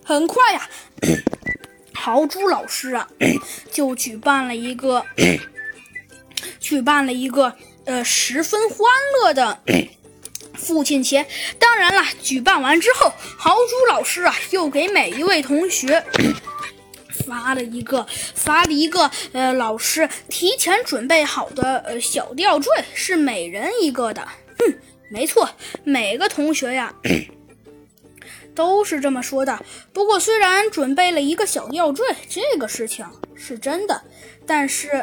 很快呀，豪猪老师啊，就举办了一个十分欢乐的父亲节。当然了，举办完之后，豪猪老师啊，又给每一位同学发了一个老师提前准备好的小吊坠，是每人一个的。没错，每个同学呀都是这么说的。不过虽然准备了一个小吊坠，这个事情是真的，但是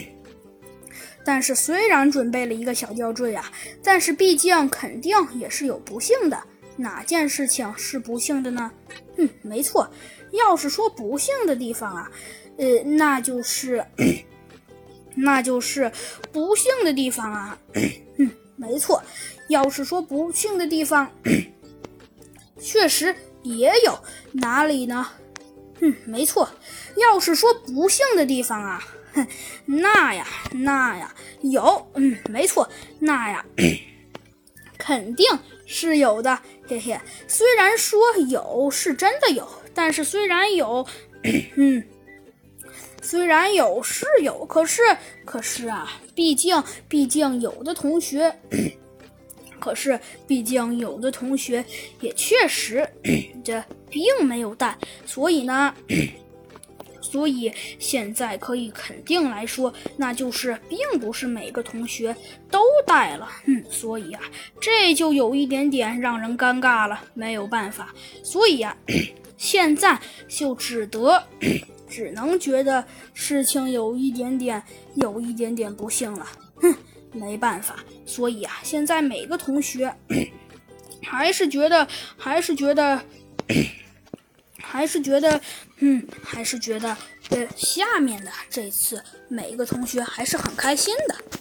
虽然准备了一个小吊坠啊，但是毕竟肯定也是有不幸的。哪件事情是不幸的呢？没错，要是说不幸的地方啊，那就是不幸的地方啊。没错，要是说不幸的地方，确实也有。哪里呢？没错，要是说不幸的地方啊，那呀有。没错，那呀肯定是有的。嘿嘿，虽然说有是真的有，但是虽然有是有，可是啊，毕竟有的同学也确实这并没有带，所以现在可以肯定来说，那就是并不是每个同学都带了。所以啊，这就有一点点让人尴尬了，没有办法。所以啊，现在就只能觉得事情有一点点不幸了。没办法。所以啊，现在每个同学还是觉得下面的这次每个同学还是很开心的。